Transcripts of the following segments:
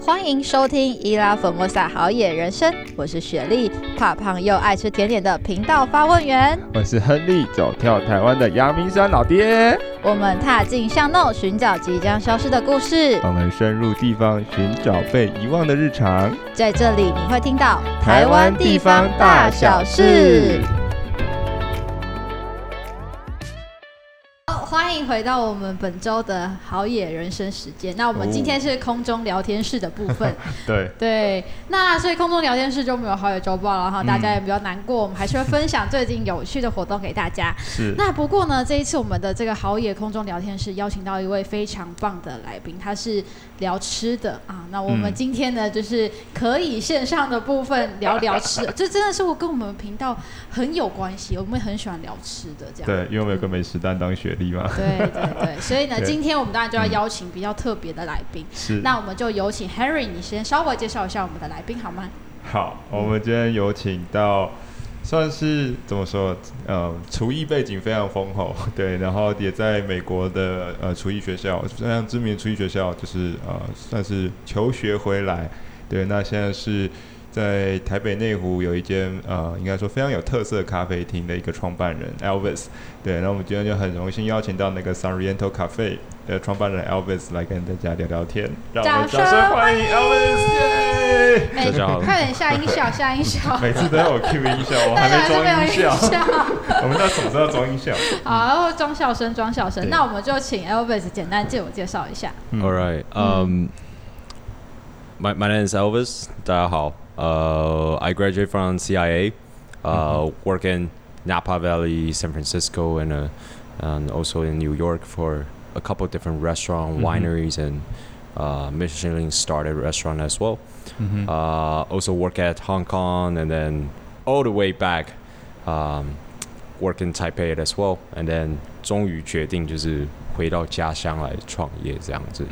歡迎收聽伊拉佛莫薩好野人生，我是雪莉，怕胖又愛吃甜點的頻道發問員。 我是亨利，走跳台灣的陽明山老爹。 我們踏進巷弄，尋找即將消失的故事。 我們深入地方，尋找被遺忘的日常。 在這裡你會聽到台灣地方大小事。歡迎回到我們本周的好野人生時間。那我們今天是空中聊天室的部分。对，那所以空中聊天室就沒有好野週報了哈，大家也比較難過。我們還是會分享最近有趣的活動給大家。是。那不過呢，這一次我們的這個好野空中聊天室邀請到一位非常棒的來賓，他是聊吃的啊。那我們今天呢，就是可以線上的部分聊聊吃的，這真的是跟我們頻道很有關係，我們很喜歡聊吃的這樣。 對，因為我們有個美食擔當雪莉嘛。 對，所以呢，今天我們當然就要邀請比較特別的來賓。是，那我們就有請 Henry， 你先稍微介紹一下我們的來賓好嗎？好， 我們今天有請到，算是怎麼說，廚藝背景非常豐厚，對，然後也在美國的廚藝學校，非常知名的廚藝學校，就是算是求學回來，對，那現在是在台北內湖有一間應該說非常有特色咖啡廳的一個創辦人 Elvis， 对，那我們今天就很榮幸邀請到那個 Sanriento Cafe 的創辦人 Elvis 來跟大家聊聊天，讓我們掌聲歡迎 Elvis， 耶！ 大家好，快點下音效， 每次都要我 cue 音效，我還沒裝音效，我們到什麼時候裝音效？ 好，然後裝笑聲，那我們就請 Elvis 簡單自我介紹一下。 All right, my name is Elvis， 大家好。I graduated from CIA, work in Napa Valley, San Francisco, and also in New York for a couple of different restaurants, wineries, and Michelin-starred restaurant as well. Also work at Hong Kong, and then all the way back, work in Taipei as well. And then 終於決定就是回到家鄉來創業這樣子。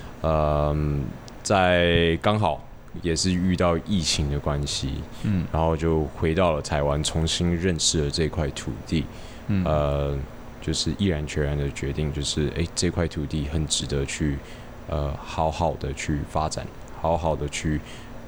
在剛好也是遇到疫情的關係，然後就回到了台灣，重新認識了這塊土地，就是毅然決然的決定，就是這塊土地很值得去好好的去發展，好好的去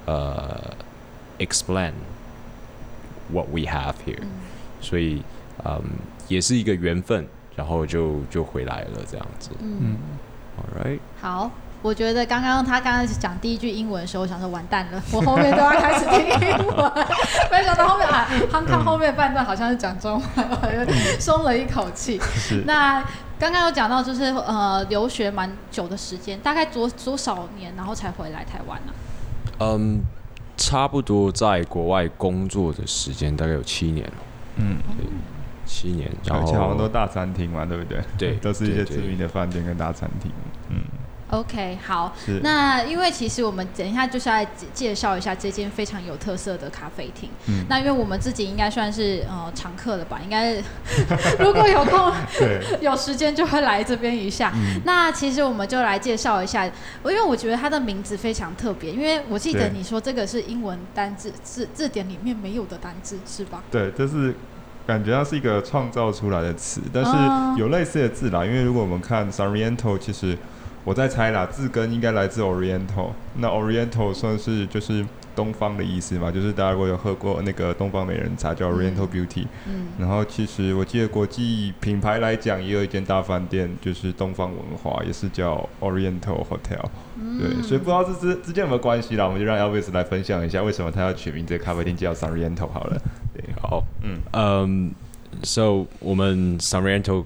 explain what we have here，所以也是一個緣分，然後就回來了這樣子。All right， 好。 我覺得他剛剛講第一句英文的時候，我想說完蛋了，我後面都要開始聽英文，沒想到後面康康後面半段好像是講中文，我就鬆了一口氣。那剛剛有講到就是留學蠻久的時間，大概多少年，然後才回來台灣呢？ 差不多在國外工作的時間大概有7年了。7年，然後好像都大餐廳嘛，對不對？ 對， 都是一些知名的飯店跟大餐廳。 OK， 好，那因為其實我們等一下就是來介紹一下這間非常有特色的咖啡廳。那因為我們自己應該算是常客了吧，應該如果有空有時間就會來這邊一下。那其實我們就來介紹一下，因為我覺得它的名字非常特別，因為我記得你說這個是英文單字字典裡面沒有的單字，是吧？對， 這是感覺它是一個創造出來的詞，但是有類似的字啦。因為如果我們看 Sanriento， 其實我在猜啦，字根應該來自 Oriental， 那 Oriental 算是就是東方的意思嘛，就是大家如果有喝過那個東方美人茶叫 Oriental Beauty，然後其實我記得國際品牌來講也有一間大飯店，就是東方文華，也是叫 Oriental Hotel，對，所以不知道這之間有沒有關係啦，我們就讓 Elvis 來分享一下為什麼他要取名這個咖啡廳叫 Sanriento 好了。對，好 ，So 我們 Sanriento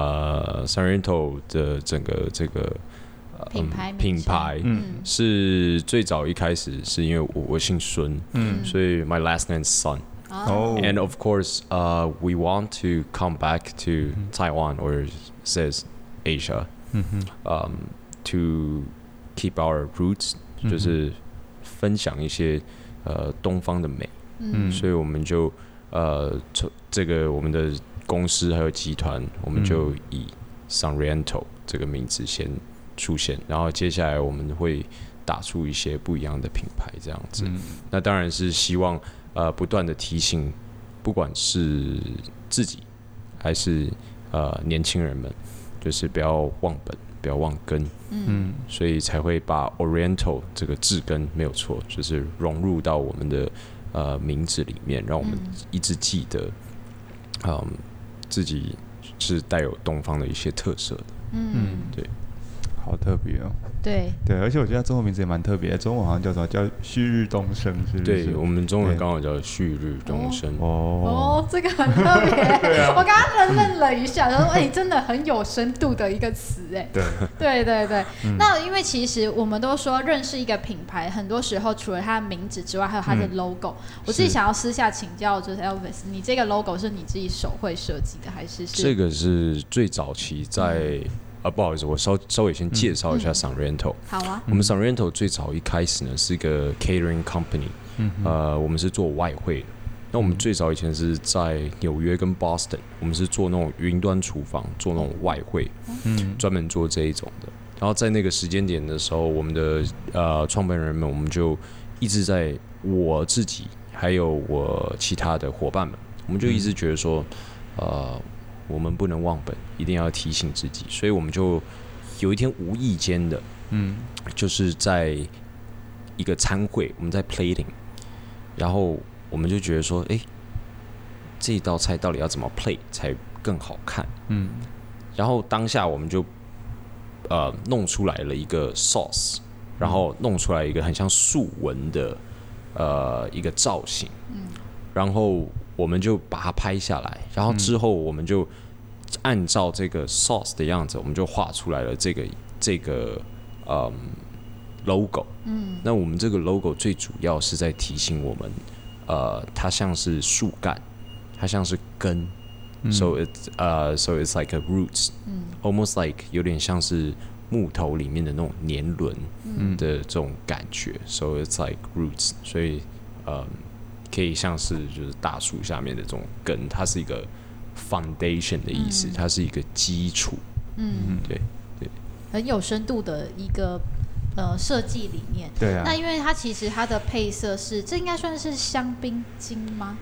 的整個這個品牌是最早一開始是因為我姓孫，所以 my last name is Sun. And of course, we want to come back to Taiwan or says Asia, to keep our roots， 就是分享一些東方的美，所以我們就這個我們的公司還有集團，我們就以 Sanriento 這個名字先出現，然後接下來我們會打出一些不一樣的品牌這樣子。那當然是希望不斷的提醒，不管是自己還是年輕人們，就是不要忘本， 不要忘根，所以才會把 Oriental 這個字根沒有錯，就是融入到我們的名字裡面，讓我們一直記得，自己是帶有東方的一些特色的，對， 好特別哦。 對， 而且我覺得中文名字也蠻特別的，中文好像叫什麼叫旭日東升，是不是？ 對，我們中文剛好叫旭日東升。 這個很特別。我剛剛愣了一下，然後真的很有深度的一個詞，哎。對。那因為其實我們都說認識一個品牌，很多時候除了它的名字之外，還有它的 logo。我自己想要私下請教，就是 Elvis， 你這個 logo 是你自己手繪設計的，還是？ 這個是最早期在。不好意思，我稍微先介紹一下 Sanriento。 好啊。 我們 Sanriento 最早一開始呢是一個 catering company，我們是做外燴的。那我們最早以前是在紐約跟 Boston， 我們是做那種雲端廚房，做那種外燴，專門做這一種的。然後在那個時間點的時候，我們的創辦人們，我們就一直在我自己還有我其他的夥伴們，我们就一直覺得說，我們不能忘本，一定要提醒自己，所以我們就有一天無意間的，就是在一個餐會，我們在 plating， 然後我們就覺得說，這一道菜到底要怎麼 plate 才更好看？然後當下我們就弄出來了一個 sauce， 然後弄出來一個很像樹紋的一個造型，然後我們就把它拍下來，然後之後我們就按照這個 sauce 的樣子，我們就畫出來了這個logo。那我們這個 logo 最主要是在提醒我們，它像是樹幹，它像是根，so it's like a roots，almost like 有點像是木頭裡面的那種年輪的這種感覺，so it's like roots， 所以可以像是就是大樹下面的這種根，它是一個 foundation 的意思，它是一個基礎。對， 很有深度的一個設計理念。 對啊。 那因為它其實它的配色是，這應該算是香檳金嗎？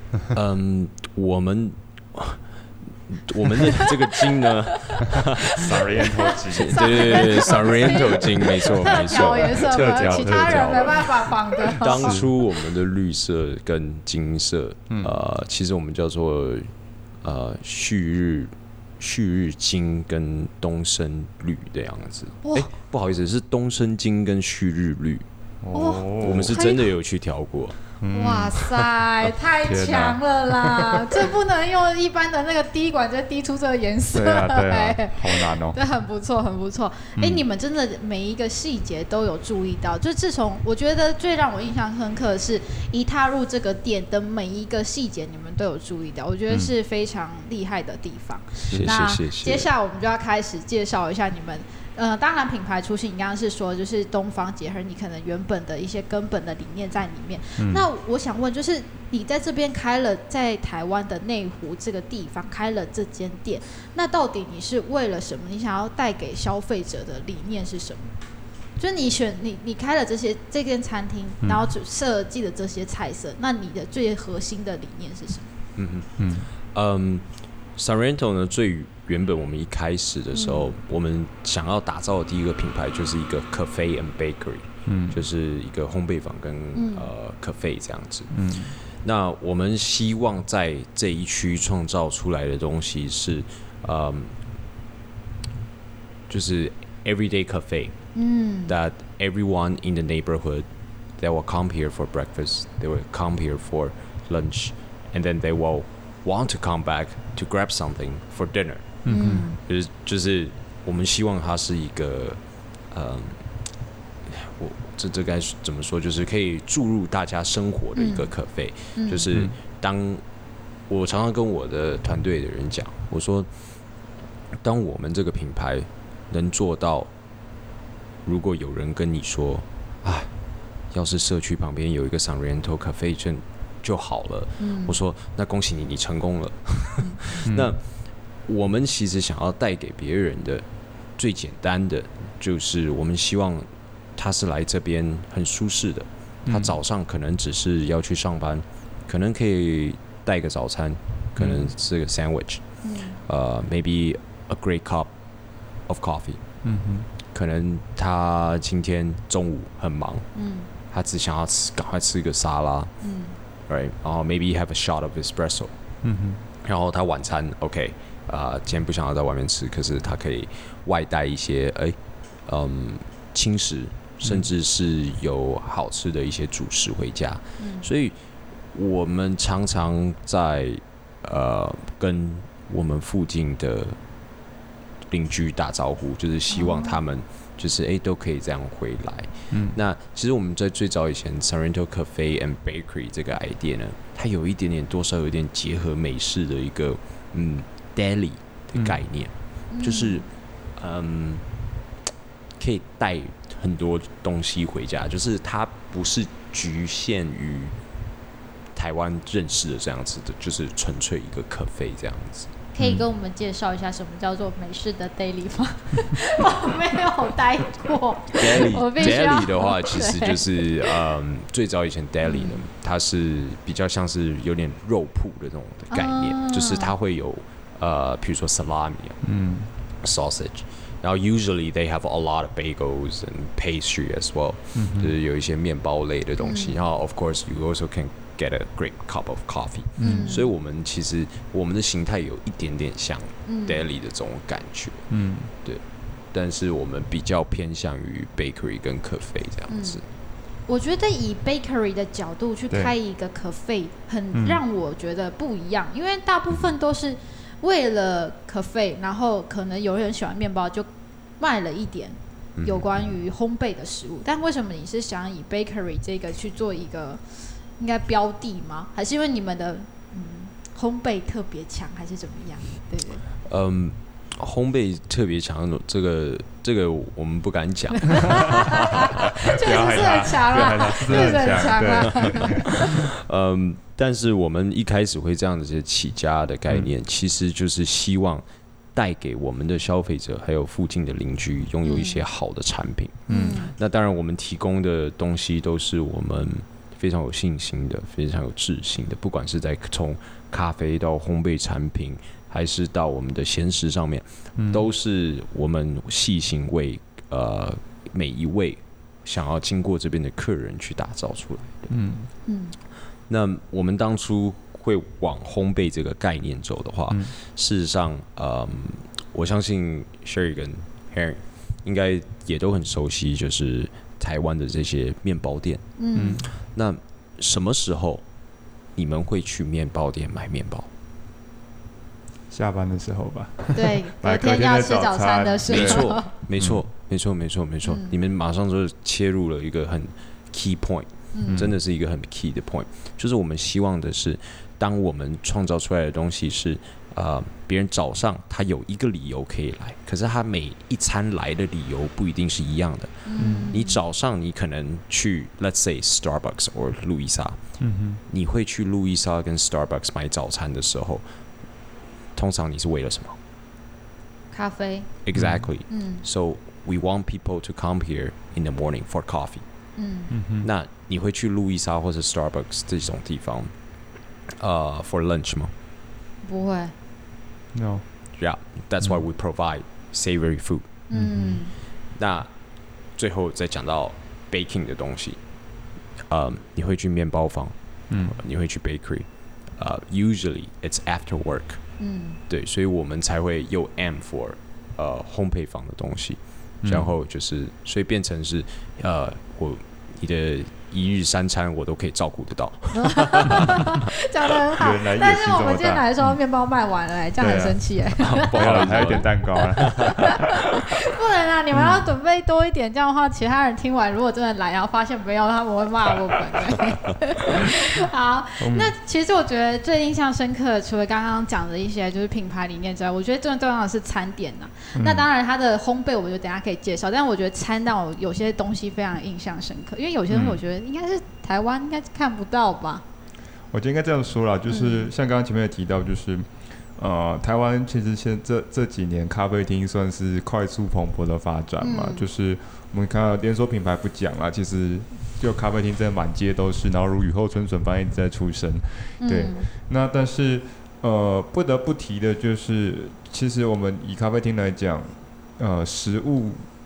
我們的這個金呢 ，Sanriento金， 對 ，Sanriento金，沒錯， 其他人沒辦法仿的。 當初我們的綠色跟金色，其實我們叫做旭日金跟東升綠的樣子。不好意思，是東升金跟旭日綠。我們是真的有去調過。 哇塞，太強了啦！這不能用一般的那個滴管就滴出這個顏色。 對啊，好難哦。 對，很不錯。你們真的每一個細節都有注意到。就自從我覺得最讓我印象深刻的是，一踏入這個店的每一個細節，你們都有注意到，我覺得是非常厲害的地方。 那接下來我們就要開始介紹一下你們。當然品牌初心，你剛剛是說就是東方結合你可能原本的一些根本的理念在裡面。那我想問，就是你在這邊開了在台灣的內湖這個地方開了這間店，那到底你是為了什麼？你想要帶給消費者的理念是什麼？就是你開了這間餐廳，然後設計的這些菜色，那你的最核心的理念是什麼 ？Sanriento 呢，最原本我們一開始的時候，我們想要打造的第一個品牌就是一個 cafe and bakery，就是一個烘焙坊跟cafe 這樣子。那我們希望在這一區創造出來的東西是，就是 everyday cafe，that everyone in the neighborhood they will come here for breakfast, they will come here for lunch, and then they will want to come back to grab something for dinner。就是我們希望它是一個這該怎麼說？就是可以注入大家生活的一個cafe。就是當我常常跟我的團隊的人講，我說，當我們這個品牌能做到，如果有人跟你說，要是社區旁邊有一個 Sanriento cafe就好了，我說那恭喜你，你成功了。那我們其實想要帶給別人的最簡單的，就是我們希望他是來這邊很舒適的。他早上可能只是要去上班，可能可以帶個早餐，可能是個 sandwich，maybe a great cup of coffee， 可能他今天中午很忙，他只想要趕快吃一個沙拉，right， 然後 maybe have a shot of espresso，然後他晚餐 OK， 今天不想要在外面吃，可是他可以外帶一些輕食，甚至是有好吃的一些主食回家，所以我們常常在跟我們附近的鄰居打招呼，就是希望他們就是都可以這樣回來。那其實我們在最早以前 Sorrento Cafe and Bakery 這個 idea 呢，它有一點點多少有點結合美式的一個deli 的概念，就是可以帶很多東西回家，就是它不是局限於台灣認識的這樣子的，就是純粹一個 cafe 這樣子。 可以跟我們介紹一下什麼叫做美式的 deli 嗎？我沒有待過。deli 的話，其實就是最早以前 deli 呢，它是比較像是有點肉鋪的這種的概念，就是它會有譬如說 salami，sausage， 然後 usually they have a lot of bagels and pastry as well，就是有一些麵包類的東西，然後 of course you also can get a great cup of coffee，所以我們其實我們的形態有一點點像 deli 的這種感覺，對，但是我們比較偏向於 bakery 跟 cafe 這樣子。 我覺得以 bakery 的角度去開一個 cafe，很讓我覺得不一樣，因為大部分都是為了 cafe， 然後可能有人喜歡麵包就賣了一點有關於烘焙的食物，但為什麼你是想以 bakery 這個去做一個應該標的嗎？還是因為你們的烘焙特別強，還是怎麼樣？對對。 烘焙特別強，這個我們不敢講。確實是很強啊，確實很強啊。 但是我們一開始會這樣子起家的概念，其實就是希望帶給我們的消費者還有附近的鄰居擁有一些好的產品。那當然我們提供的東西都是我們非常有信心的，非常有自信的，不管是在從咖啡到烘焙產品，還是到我們的鹹食上面，都是我們細心為每一位想要經過這邊的客人去打造出來的。那我們當初會往烘焙這個概念走的話，事實上，我相信 Sherry 跟 Harry 應該也都很熟悉，就是台灣的這些麵包店。那什麼時候你們會去麵包店買麵包？ 下班的時候吧。 對，隔天要吃早餐的時候。 沒錯。你們馬上就切入了一個很 key point，真的是一個很 key 的 point，就是我們希望的是，當我們創造出來的東西是別人早上他有一個理由可以來，可是他每一餐來的理由不一定是一樣的。你早上你可能去 let's say Starbucks or 路易莎，你會去路易莎跟 Starbucks 買早餐的時候，通常你是為了什麼？ 咖啡。 Exactly. So we want people to come here in the morning for coffee. 那你會去路易莎或者 Starbucks 這種地方for lunch 嗎？ 不會。 No. Yeah, that's why we provide savory food. 那最後再講到 baking 的東西，你會去麵包房，你會去 bakery， usually it's after work。對，所以我們才會又 aim for 烘焙坊的東西，然後就是所以變成是你的一日三餐我都可以照顧得到。 講得很好，但是我們今天來說麵包賣完了，這樣很生氣哎。 不好了，還有點蛋糕啊。 不能啊，你們要準備多一點，這樣的話其他人聽完如果真的來，然後發現沒有，他們會罵我們。好，那其實我覺得最印象深刻的，除了剛剛講的一些就是品牌理念之外，我覺得最重要的是餐點吶。那當然它的烘焙，我覺得等一下可以介紹，但我覺得餐讓我有些東西非常印象深刻，因為有些東西我覺得應該是台灣應該看不到吧。 我觉得应该这样说啦，就是像刚刚前面有提到，就是台湾其實這幾年咖啡廳算是快速蓬勃的發展嘛，就是我們看到連鎖品牌不講啦，其實就咖啡廳真的滿街都是，然後如雨後春筍般一直在出生。對，那但是不得不提的就是，其實我們以咖啡廳來講，食物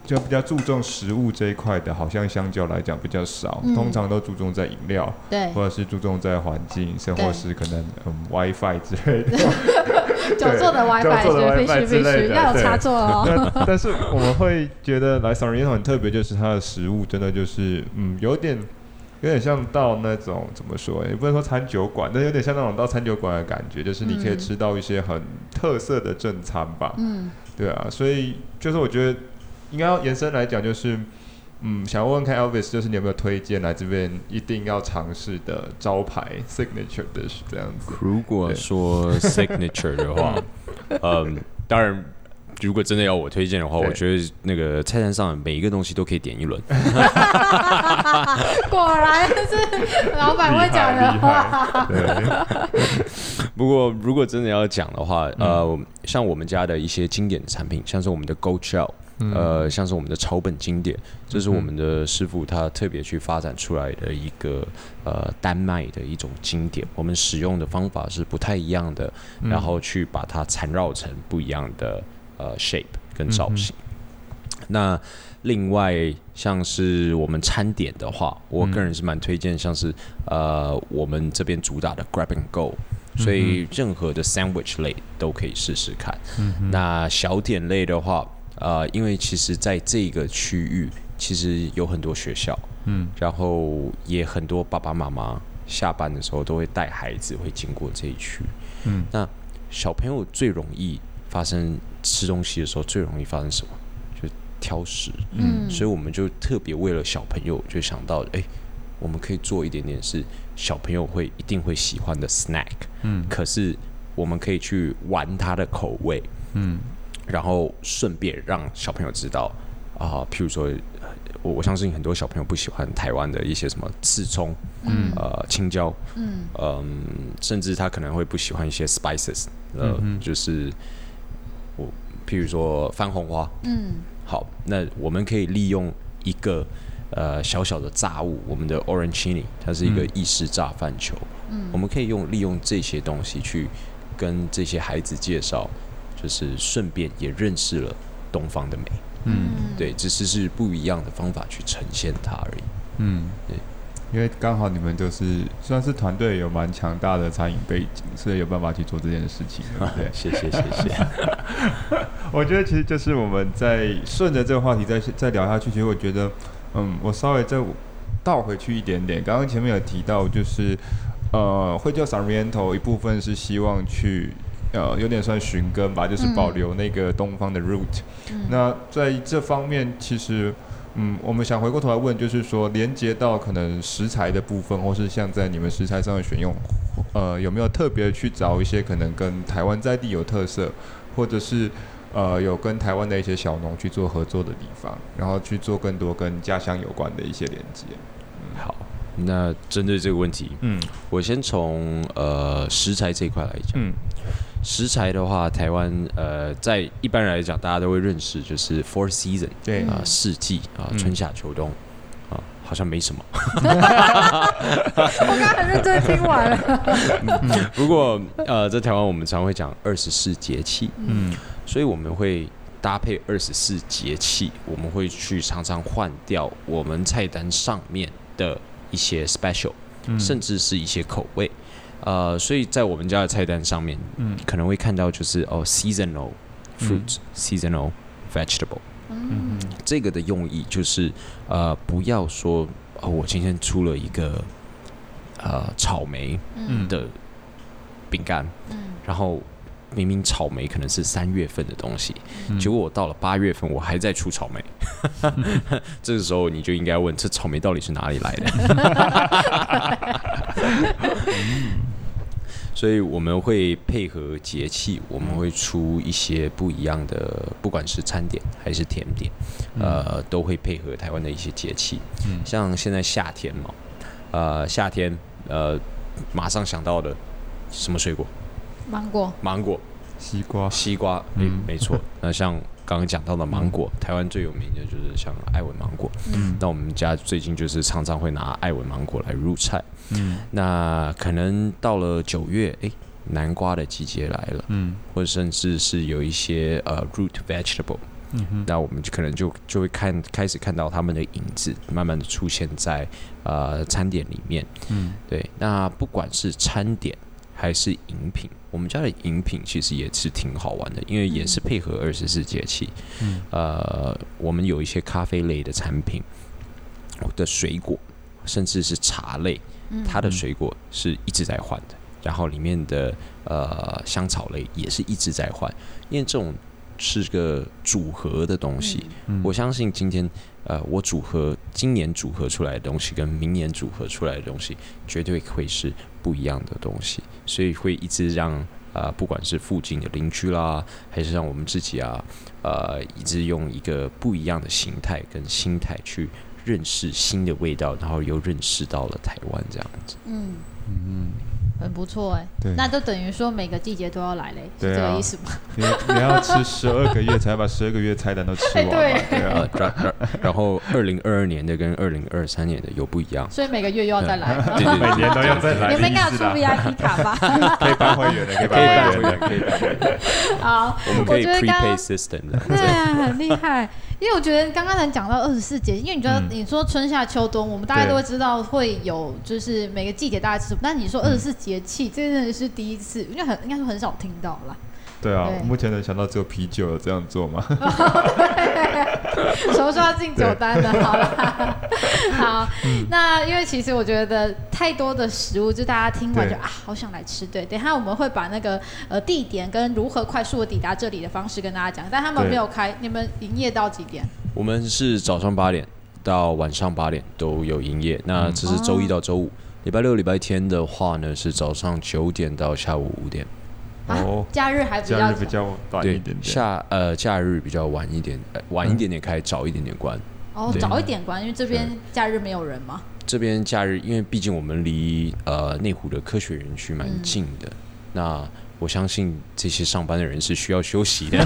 就比較注重食物這一塊的，好像相較來講比較少，通常都注重在飲料， 對， 或者是注重在環境，甚或是可能WiFi 之類的， 久坐的 WiFi 必須要有插座哦。 但是我們會覺得來 San Roriental 很特別，就是它的食物真的就是有點像到那種怎麼說，也不能說餐酒館，但有點像那種到餐酒館的感覺，就是你可以吃到一些很特色的正餐吧。对啊，所以就是我觉得應該要延伸來講，就是想問問看 Elvis， 就是你有沒有推薦來這邊一定要嘗試的招牌 signature dish 這樣子？ 如果說 signature 的話，當然。如果真的要我推薦的話，我覺得那個菜單上每一個東西都可以點一輪。 果然是老闆會講的話。 不過如果真的要講的話，像我們家的一些經典的產品，像是我們的 Goat Shell，像是我們的草本經典，這是我們的師傅他特別去發展出来的一個丹麥的一種經典。我們使用的方法是不太一樣的，然後去把它纏繞成不一樣的。shape 跟造型。那另外像是我們餐點的話，我個人是蠻推薦，像是我們這邊主打的 Grab and Go，所以任何的 sandwich 類都可以試試看。那小點類的話，因為其實在這個區域其實有很多學校，然後也很多爸爸媽媽下班的時候都會帶孩子會經過這一區。那小朋友最容易發生吃東西的時候最容易發生什麼？就是挑食。所以我們就特別為了小朋友就想到，我們可以做一點點是小朋友一定會喜歡的 snack。可是我們可以去玩他的口味。然後順便讓小朋友知道譬如說，我相信很多小朋友不喜歡台灣的一些什麼刺蔥、青椒，甚至他可能會不喜歡一些 spices，就是譬如說番紅花。好，那我們可以利用一個小小的炸物，我們的 Orencini， 它是一個意式炸飯球。我們可以利用這些東西去跟這些孩子介紹，就是順便也認識了東方的美。對，只是不一樣的方法去呈現它而已。对， 因為剛好你們就是算是團隊有蠻強大的餐飲背景，所以有辦法去做這件事情，對不对？ 謝謝。 我覺得其實就是我們在順着這個話題再聊下去，其實我覺得，我稍微再倒回去一點點。剛剛前面有提到，就是會叫 San Roriental 一部分是希望去有點算尋根吧，就是保留那個東方的 root。那在這方面，其實我們想回過頭來問，就是說連接到可能食材的部分，或是像在你們食材上的選用，有沒有特別去找一些可能跟台灣在地有特色，或者是有跟台灣的一些小農去做合作的地方，然後去做更多跟家鄉有關的一些連接。 好，那針對這個問題，我先從食材這一塊來講。食材的話，台灣在一般人來講，大家都會認識，就是 Four Season， 對四季春夏秋冬好像沒什麼。 我剛剛很認真聽完了。 不過在台灣我們常會講24節氣，所以我們會搭配24節氣，我們會去常常換掉我們菜單上面的一些 special，甚至是一些口味。所以在我們家的菜單上面，可能會看到就是seasonal fruits，seasonal vegetable。這個的用意就是不要說我今天出了一個草莓的餅乾，然後明明草莓可能是3月份的東西，結果我到了8月份我還在出草莓。這個時候你就應該問，這草莓到底是哪裡來的？所以我們會配合節氣，我們會出一些不一樣的，不管是餐點還是甜點，都會配合台灣的一些節氣。像現在夏天嘛，夏天馬上想到的什麼水果？芒果、西瓜，沒錯。那像剛剛講到的芒果，台灣最有名的就是像愛文芒果。那我們家最近就是常常會拿爱文芒果來入菜。那可能到了9月，南瓜的季節來了，或者甚至是有一些root vegetable， 那我們可能就會開始看到他們的影子慢慢的出現在餐點裡面。對，那不管是餐點還是飲品，我們家的飲品其實也是挺好玩的，因為也是配合24節氣。我們有一些咖啡類的產品的水果，甚至是茶類，它的水果是一直在換的，然後裡面的香草類也是一直在換，因為這種是個組合的東西。我相信今天我今年組合出來的東西跟明年組合出來的東西絕對会是不一樣的東西，所以会一直讓不管是附近的鄰居啦，還是讓我們自己一直用一個不一樣的形態跟心態去認識新的味道，然後又認識到了台灣這樣子。 很不錯哎，那就等於說每個季節都要来嘞，是這個意思嗎？ 你要吃12个月才把12个月菜单都吃完嘛？对啊。 然後2022年的跟2023年的有不一樣， 所以每個月又要再來。 对，每年都要再來。 你們應該要出 VIP 卡吧？ 可以辦會員的，可以辦會員的，可以辦會員。 好，我們可以 prepay system 的。 對啊，很厲害。因為我覺得剛剛才講到24節，因為你覺得你說春夏秋冬，我們大概都會知道會有，就是每個季節大概吃什麼。但你說24節氣，這真的是第一次，因為應該說很少聽到啦。 對啊，目前能想到只有啤酒有這樣做嗎？ 什麼時候要進酒單呢？好了，好，那因為其實我覺得太多的食物，就大家聽完就好想來吃。對，等一下我們會把那個地點跟如何快速的抵達這裡的方式跟大家講，但他們沒有開，你們營業到幾點？ 我們是早上8點到晚上8點都有營業，那這是週一到週五，禮拜六、禮拜天的話呢是早上9點到下午5點。 假日還比較短一點點。 假日比較晚一點，晚一點點開，早一點點關。 早一點關，因為這邊假日沒有人嘛。 這邊假日，因為畢竟我們離內湖的科學園區蠻近的，那我相信這些上班的人是需要休息的。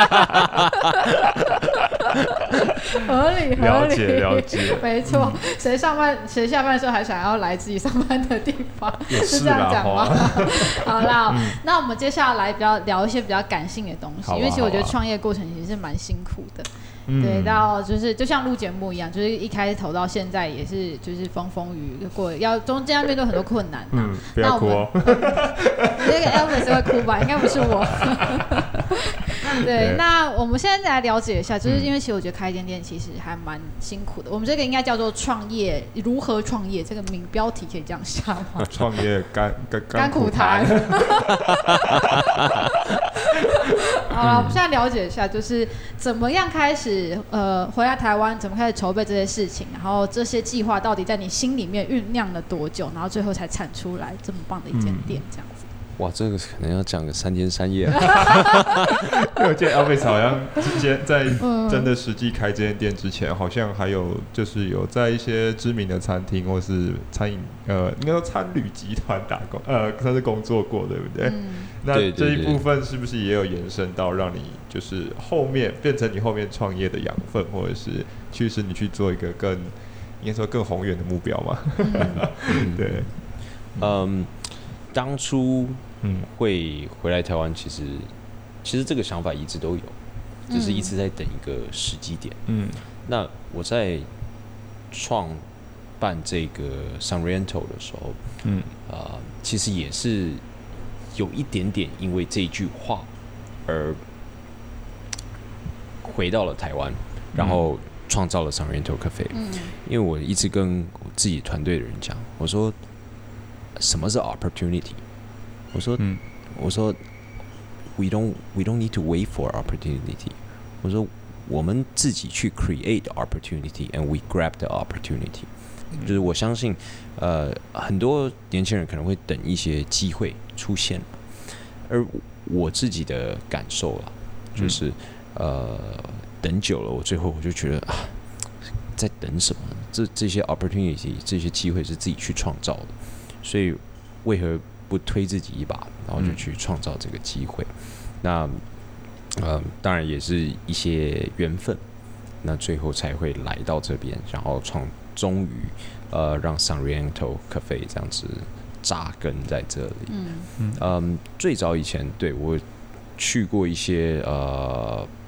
合理， 了解， 沒錯。誰下班的時候還想要來自己上班的地方，是這樣講嗎？好啦，那我們接下來聊一些比較感性的東西，因為其實我覺得創業過程其實是蠻辛苦的。對，到就像錄節目一樣，就是一開頭到現在也是就是風風雨雨過，中間要面對很多困難。 不要哭哦。 那個 Elvis 會哭吧？應該不是我。對，那我們現在來了解一下，就是因為其實我覺得開一間店其實還蠻辛苦的。我們這個應該叫做創業，如何創業？這個名標題可以這樣下嗎？ 創業甘苦談。 好了，我們現在了解一下，就是怎麼樣開始回來台灣，怎麼開始籌備這些事情，然後這些計劃到底在你心裡面醞釀了多久，然後最後才產出來這麼棒的一間店，這樣子。 哇，這個可能要講個3天3夜。 因為我記得 Elvis 好像之前在真的實際開這間店之前，好像還有就是有在一些知名的餐廳或是餐飲應該說餐旅集團打工算是工作過，對不對？那這一部分是不是也有延伸到讓你就是後面變成你後面創業的養分，或者是驅使你去做一個應該說更宏遠的目標嘛？對， 當初會回來台灣，其實這個想法一直都有，就是一直在等一個時機點。那我在創辦這個 Sanriento 的時候，其實也是有一點點因為這一句話而回到了台灣，然後創造了 Sanriento Cafe。因為我一直跟我自己團隊的人講，我說什麼是 opportunity？ 我說 we don't need to wait for opportunity。我說我們自己去 create the opportunity and we grab the opportunity。就是我相信很多年輕人可能會等一些機會出現，而我自己的感受啦，就是等久了，我最後我就覺得在等什麼？這些 opportunity 這些機會是自己去創造的，所以為何不推自己一把，然後就去創造這個機會？那當然也是一些緣分，那最後才會來到這邊，然後終於讓 Sanriento Cafe 這樣子扎根在這裡。最早以前對我去過一些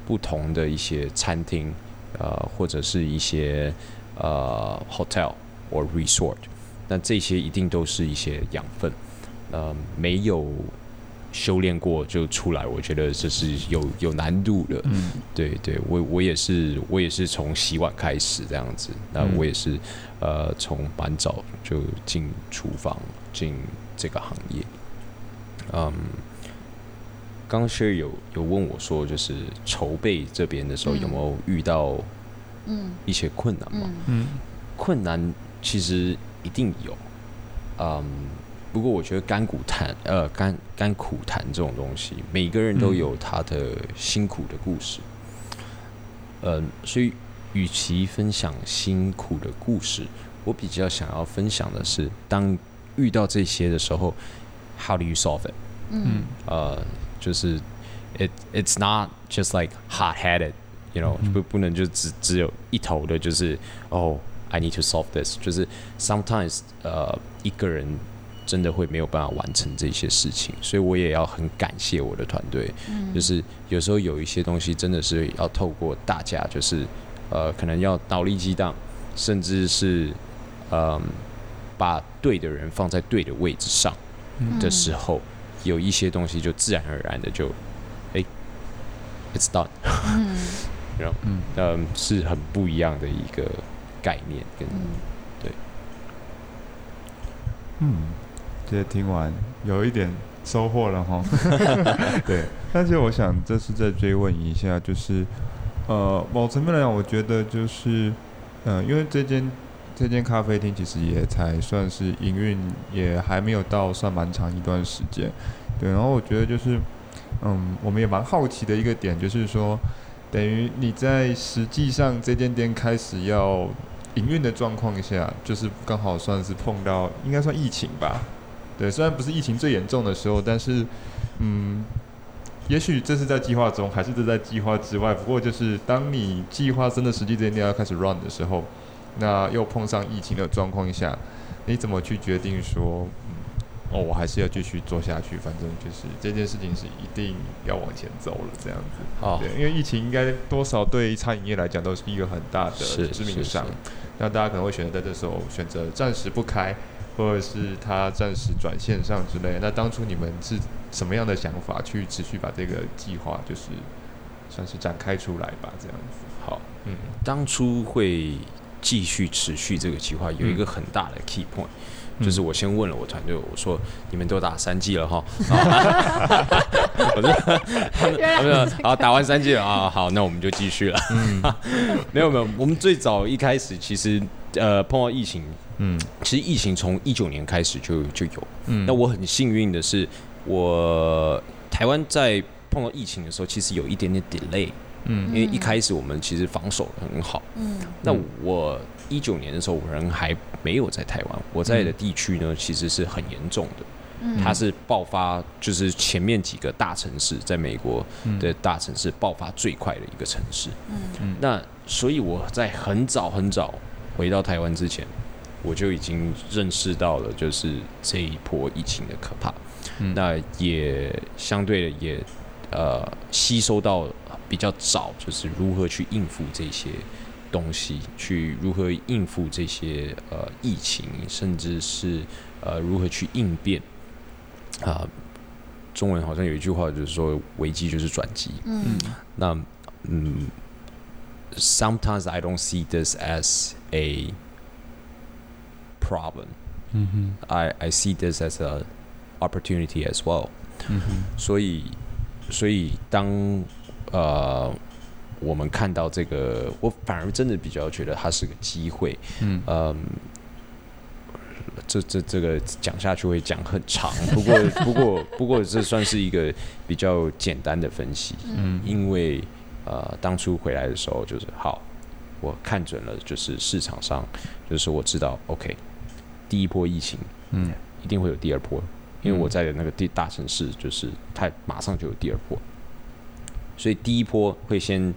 不同的一些餐廳，或者是一些hotel 或 resort， 那這些一定都是一些養分，沒有修煉過就出來，我覺得這是有難度的。對，我也是從洗碗開始這樣子，那我也是從蠻早就進廚房進這個行業。剛剛 Sherry 有問我說，就是籌備這邊的時候有沒有遇到一些困難嘛？困難其實一定有，不過我覺得甘苦談這種東西，每個人都有他的辛苦的故事，所以與其分享辛苦的故事，我比較想要分享的是，當遇到這些的時候 ，How do you solve it？就是 it's not just like hot-headed，you know，不能就只有一頭的，就是I need to solve this， 就是 sometimes 一個人真的會沒有辦法完成這些事情，所以我也要很感謝我的團隊，就是有時候有一些東西真的是要透過大家，就是可能要腦力激盪，甚至是把對的人放在对的位置上的時候，有一些東西就自然而然的就it's done， 是很不一樣的一個概念跟对， 这些听完有一點收穫了哈。對，但是我想這是再追問一下，就是某層面來講，我覺得就是因為這間咖啡廳其實也才算是營運，也還沒有到算蠻長一段時間。對，然後我覺得就是我們也蠻好奇的一個點，就是說等於你在實際上這間店開始要營運的狀況下，就是剛好算是碰到應該算疫情吧。對，雖然不是疫情最嚴重的時候，但是也許這是在計劃中，還是這在計劃之外。不過就是當你計劃真的實際這間店要開始 run 的時候，那又碰上疫情的狀況下，你怎麼去決定說，我還是要繼續做下去？反正就是這件事情是一定要往前走了，這樣子。對，因為疫情應該多少對餐飲業來講都是一個很大的致命傷。那大家可能會選擇在這時候選擇暫時不開，或者是他暫時轉線上之類的。那當初你們是什麼樣的想法去持續把這個計劃就是算是展開出來吧？這樣子。好， 當初會繼續持續這個計劃有一個很大的 key point，就是我先問了我團隊，我說你們都打3劑了哈，我說好，打完3劑了啊，好，那我們就繼續了。沒有，我們最早一開始其實碰到疫情，其實疫情從19年開始就有。那我很幸運的是，我台灣在碰到疫情的時候，其實有一點點 delay。因為一開始我們其實防守得很好。那我19年的時候，我人還沒有在台灣，我在的地區呢，其實是很嚴重的。它是爆發，就是前面幾個大城市，在美國的大城市爆發最快的一個城市。那所以我在很早回到台灣之前，我就已經認識到了，就是這一波疫情的可怕。那也相對的也吸收到比較早，就是如何去應付這些東西，去如何應付這些疫情，甚至是如何去應變。中文好像有一句話就是說，危機就是轉機。那sometimes I don't see this as a problem. I see this as a opportunity as well. 所以當我們看到這個，我反而真的比較覺得它是個機會。這個講下去會講很長，不過這算是一個比較簡單的分析。因為當初回來的時候就是好，我看準了，就是市場上，就是我知道 OK， 第一波疫情，一定會有第二波，因為我在的那個大城市，就是它馬上就有第二波，所以第一波會先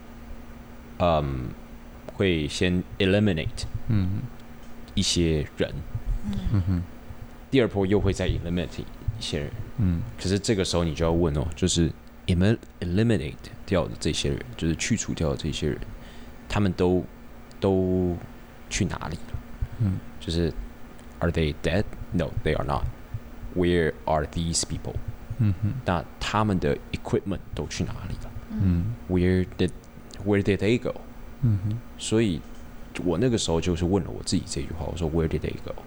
eliminate 一些人，第二波又會再 eliminate 一些人，可是這個時候你就要問哦，就是 eliminate 掉的這些人，就是去除掉的這些人，他們都去哪裡了？就是 Are they dead? No, they are not. Where are these people? 那他們的 equipment 都去哪裡了？Where did they go? 所以我那個時候就是問了我自己這句話，我說 Where did they go?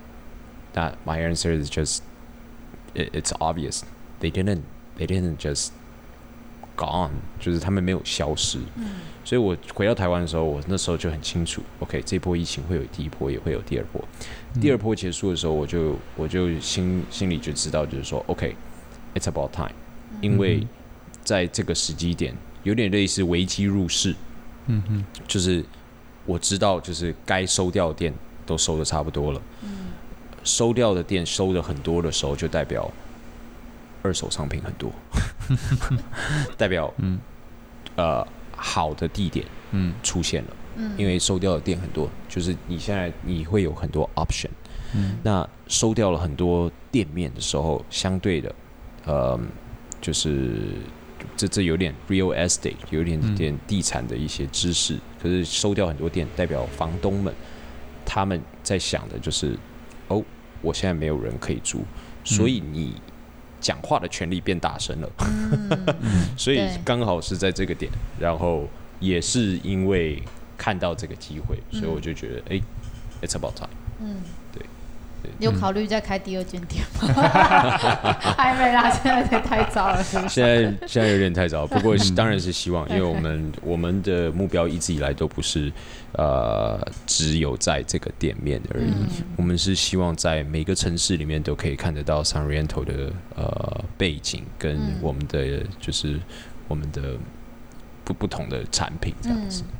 That my answer is just it's obvious. They didn't just gone. 就是他們沒有消失。所以我回到台灣的時候，我那時候就很清楚 ，OK， 這波疫情會有第一波，也會有第二波。第二波結束的時候，我就心裡就知道，就是說 ，OK，it's about time，因為在這個時機點，有點類似危機入市。就是我知道，就是該收掉的店都收的差不多了。收掉的店收的很多的時候，就代表二手商品很多，代表好的地點出現了，因為收掉的店很多，就是你會有很多 option，那收掉了很多店面的時候，相對的，就是這有點 real estate， 有點地產的一些知識，可是收掉很多店，代表房東們他們在想的就是我現在沒有人可以租，所以你講話的權利變大聲了，所以剛好是在這個點，然後也是因為看到這個機會，所以我就覺得it's about time。對。 你有考慮再開第二間店嗎？還沒啦，現在太早了，是不是？ 現在有點太早，不過當然是希望，因為我們的目標一直以來都不是只有在這個店面而已，我們是希望在每個城市裡面都可以看得到 Sanriento 的背景跟我們的就是我們的不同的產品這樣子。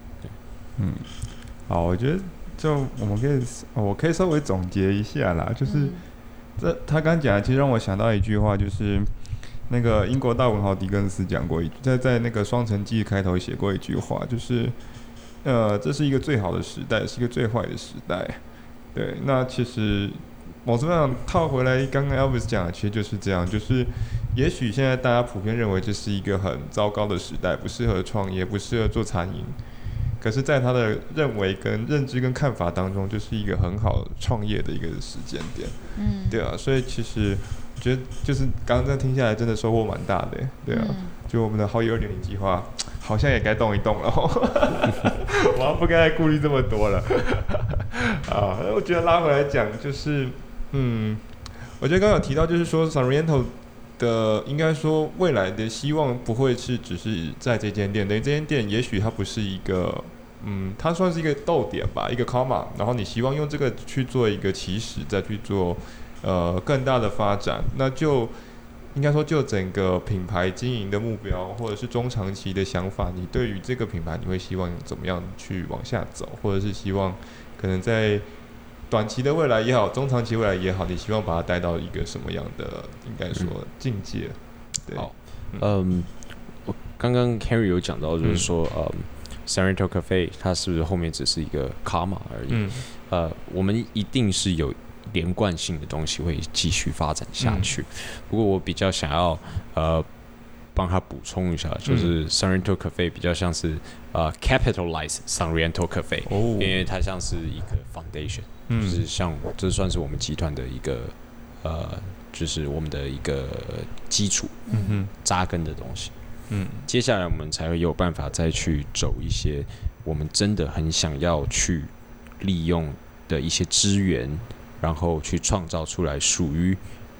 好，我覺得。我可以稍微總結一下啦，就是他剛講的，其實讓我想到一句話，就是那個英國大文豪狄更斯講過在那個《雙城記》開頭寫過一句話，就是這是一個最好的時代，是一個最壞的時代。對，那其實某種程度上套回來，剛剛 Elvis 講的其實就是這樣，就是也許現在大家普遍認為這是一個很糟糕的時代，不適合創業，不適合做餐飲。可是，在他的認為、跟認知、跟看法當中，就是一個很好創業的一個時間點。對啊，所以其實我覺得，就是剛剛這樣聽下來，真的收穫蠻大的。對啊，就我們的好野2.0計劃，好像也該動一動了。我要不該再顧慮這麼多了。啊，我覺得拉回來講，就是我覺得剛剛有提到，就是說 Sanriento 的應該說未來的希望不會是只是在這間店，等於這間店也許它不是一個它算是一個逗點吧，一個 comma， 然後你希望用這個去做一個起始，再去做更大的發展，那就應該說就整個品牌經營的目標或者是中長期的想法，你對於這個品牌你會希望怎麼樣去往下走，或者是希望可能在短期的未來也好，中長期未來也好，你希望把它帶到一個什麼樣的應該說境界？对， 好，我剛剛 Henry 有講到，就是說Sanriento Cafe 它是不是後面只是一個 comma 而已？我們一定是有連貫性的東西會繼續發展下去。不過我比較想要幫他補充一下，就是 Sanriento Cafe 比較像是capitalize Sanriento Cafe，因為它像是一個 foundation。就是像這算是我們集團的一個就是我們的一個基礎，扎根的東西。接下來我們才會有辦法再去走一些我們真的很想要去利用的一些資源，然後去創造出來屬於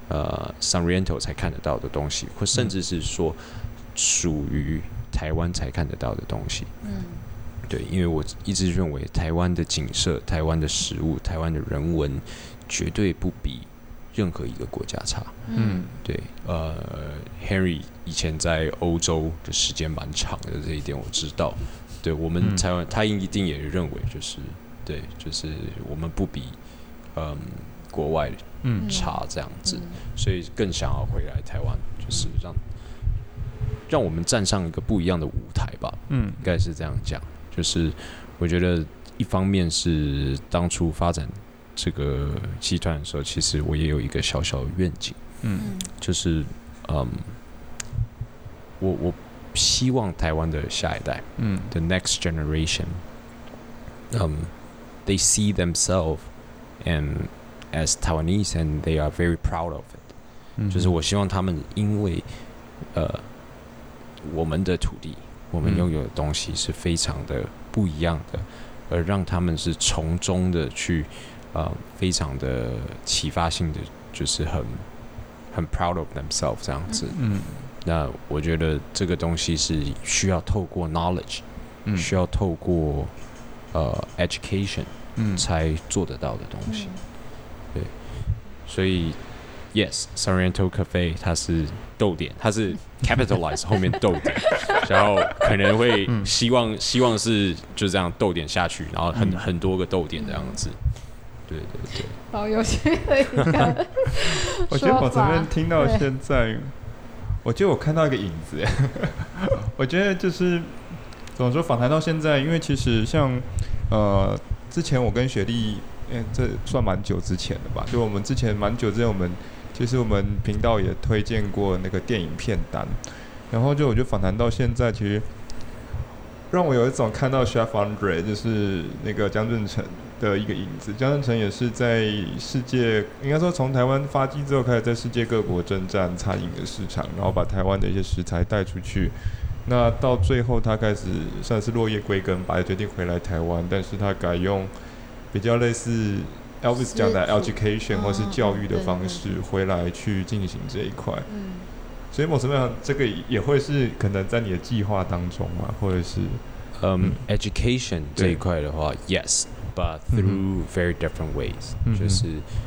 Sanriento 才看得到的東西，或甚至是說屬於台灣才看得到的東西。對，因為我一直認為台灣的景色、台灣的食物、台灣的人文，絕對不比任何一個國家差。對，Henry 以前在歐洲的時間蠻長的，這一點我知道。對，我們台灣，他一定也認為就是對，就是我們不比國外差這樣子，所以更想要回来台灣，就是讓我們站上一個不一樣的舞台吧。應該是這樣講。就是我覺得一方面是當初發展這個集團的時候，其實我也有一個小小的願景，就是我希望台灣的下一代，the next generation，they see themselves and as Taiwanese and they are very proud of it，就是我希望他們因為我們的土地，我們擁有的東西是非常的不一樣的，而讓他們是從中的去非常的啟發性的，就是很 proud of themselves 這樣子。那我覺得這個東西是需要透過 knowledge，需要透過education，才做得到的東西。對，所以 yes Sorrento Cafe 它是逗點，它是 capitalize 後面逗點，然後可能會希望是就這樣逗點下去，然後很多個逗點這樣子。對， 好有趣的一個我覺得我這邊聽到現在，我覺得我看到一個影子。我覺得就是怎麼說，訪談到現在，因為其實像之前我跟雪莉，這算蠻久之前的吧，就我們之前蠻久之前，其實我們頻道也推薦過那個電影片單，然後我覺得訪談到現在，其實讓我有一種看到 Chef Andre 就是那個江振誠的一個影子。江振誠也是在世界，應該說從台灣發跡之後，開始在世界各國征戰餐飲的市場，然後把台灣的一些食材帶出去。那到最後，他開始算是落葉歸根吧，也決定回來台灣，但是他改用比較類似 Elvis 講的 education 或是教育的方式回來去進行這一塊。所以某程度上，這個也會是可能在你的計劃當中嘛，或者是 education 這一塊的話 ，yes。But through very different ways，就是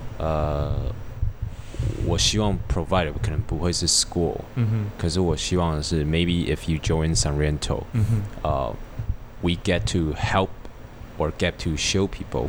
我希望 provide 可能不會是 school，可是我希望的是 maybe if you join Sorrento，we get to help or get to show people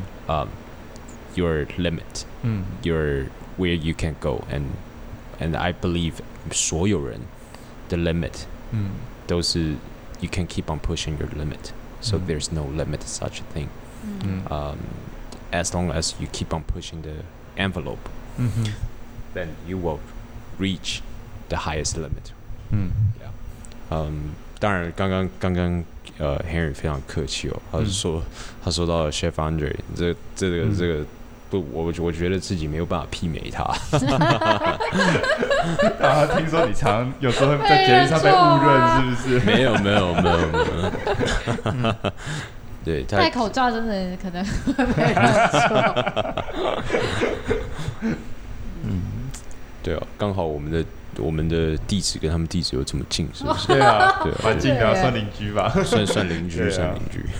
your limit，your where you can go and I believe 所有人的 limit 都是 you can keep on pushing your limit，so there's no limit such a thing。As long as you keep on pushing the envelope, then you will reach the highest limit. Yeah. 当然，刚刚Henry 非常客氣哦，他說到了 Chef Andre， 這個不，我覺得自己沒有辦法媲美他。 聽說你常有時候在節目上被誤認，是不是？ 沒有。對， 戴口罩真的可能會被人說。 對啊，剛好我們的地址跟他們地址又這麼近，是不是？ 對啊，蠻近的，算鄰居吧？ 算鄰居，算鄰居。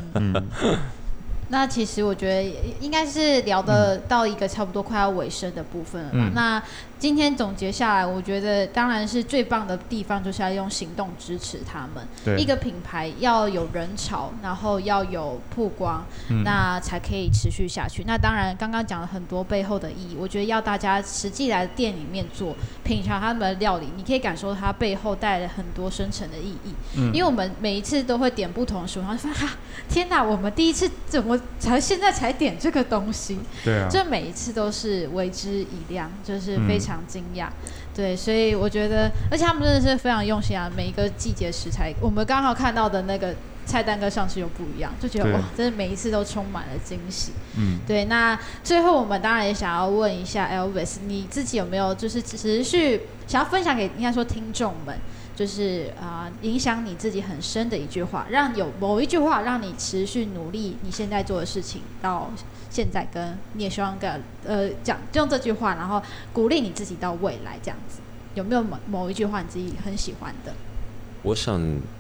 那其實我覺得應該是聊得到一個差不多快要尾聲的部分了嘛。那今天總結下來，我覺得當然是最棒的地方就是要用行動支持他們。一個品牌要有人潮，然後要有曝光，那才可以持續下去。那當然剛剛講了很多背後的意義，我覺得要大家實際來店裡面做，品嘗他們的料理，你可以感受它背後帶來很多深層的意義。因為我們每一次都會點不同的食物，然後就發現天哪，我們第一次怎麼現在才點這個東西？對啊，這每一次都是為之一亮，就是非常驚訝。對，所以我覺得，而且他們真的是非常用心啊！每一個季節食材，我們剛好看到的那個菜單跟上次又不一樣，就覺得哇，真的每一次都充滿了驚喜。對。那最後我們當然也想要問一下 Elvis， 你自己有沒有就是持續想要分享給應該說聽眾們？就是影響你自己很深的一句話，讓有某一句話讓你持續努力你現在做的事情到現在，跟你也希望講用這句話，然後鼓勵你自己到未來這樣子，有沒有某一句話你自己很喜歡的？ 我想，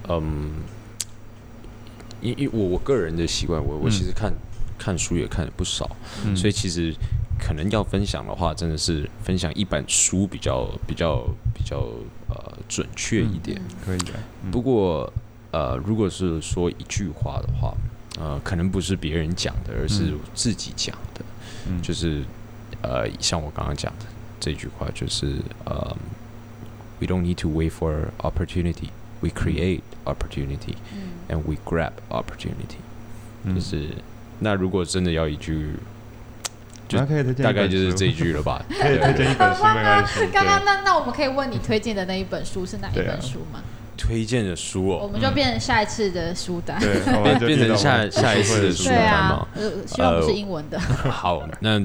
因為我個人的習慣，我其實看書也看了不少，所以其實可能要分享的話，真的是分享一本書比較準確一點。 可以的。 不過如果是說一句話的話，可能不是別人講的，而是自己講的。就是像我剛剛講的這句話，就是We don't need to wait for opportunity, we create opportunity, and we grab opportunity。就是那如果真的要一句。大概就是這一句了吧。 可以推薦一本書，沒關係。 剛剛那我們可以問你推薦的那一本書是哪一本書嗎？ 推薦的書哦， 我們就變成下一次的書單， 對， 變成下一次的書單嘛。 希望不是英文的。 好，那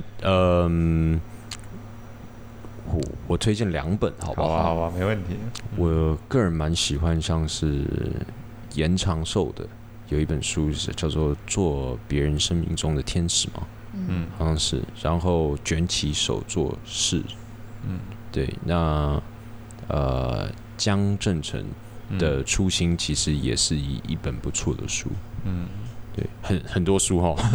我推薦2本，好不好？ 好啊，沒問題。 我個人蠻喜歡像是嚴長壽的，有一本書是叫做《做別人生命中的天使》嘛，好像是。然後捲起手做事，對。那江振誠的初心其實也是一本不錯的書，對，很多書哈。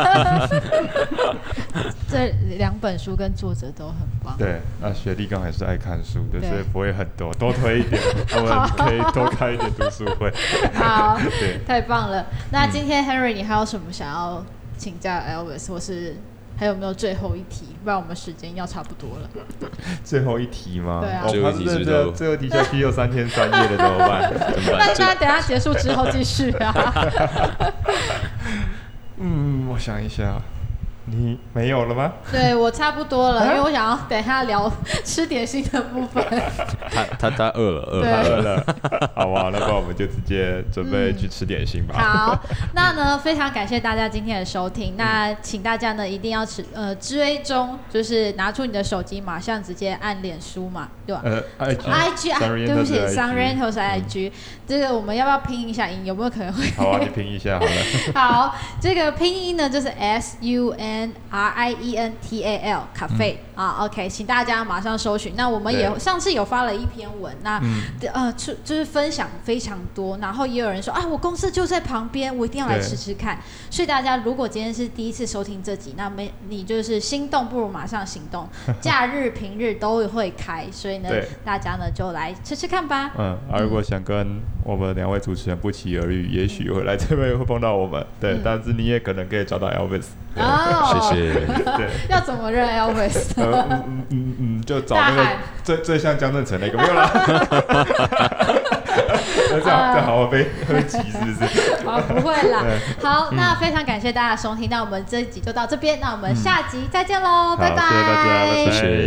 這2本書跟作者都很棒。 對，那學弟剛還是愛看書的，所以不會很多，多推一點，我們可以多開一點讀書會。 好，對，太棒了。那今天 Henry，你還有什麼想要請教 Elvis， 或是還有沒有最後一題？不然我們時間要差不多了。 最後一題嗎？ 對啊。 最後一題是最後一題下去又3天3夜的，怎麼辦？ 那等一下結束之後繼續啊。 我想一下。你沒有了嗎？ 對，我差不多了，因為我想要等一下聊吃點心的部分。 他餓了。 好啊，那不然我們就直接準備去吃點心吧。 好，那呢非常感謝大家今天的收聽。那請大家呢一定要追蹤，就是拿出你的手機，馬上直接按臉書嘛，對吧？IG 啊，對不起，Sunriento 是 IG。這個我們要不要拼一下音？有沒有可能會？ 好啊，你拼一下好了。 好，這個拼音呢就是 SUNRIENTAL Cafe 啊 ，OK， 請大家馬上搜尋。那我們也上次有發了一篇文，那就是分享非常多，然後也有人說啊，我公司就在旁邊，我一定要來吃吃看。所以大家如果今天是第一次收聽這集，那你就是心動不如馬上行動，假日平日都會開，所以呢，大家呢就來吃吃看吧。 如果想跟我們2位主持人不期而遇，也許會來這邊會碰到我們，對，但是你也可能可以找到 Elvis。 謝謝。 對， 要怎麼認 Elvis？ 就找那個最像江振誠那個，沒有啦。這樣好被擠是不是？ 好，不會啦。好，那非常感謝大家的收聽，那我們這一集就到這邊，那我們下集再見嘍，拜拜。 謝謝大家，拜拜。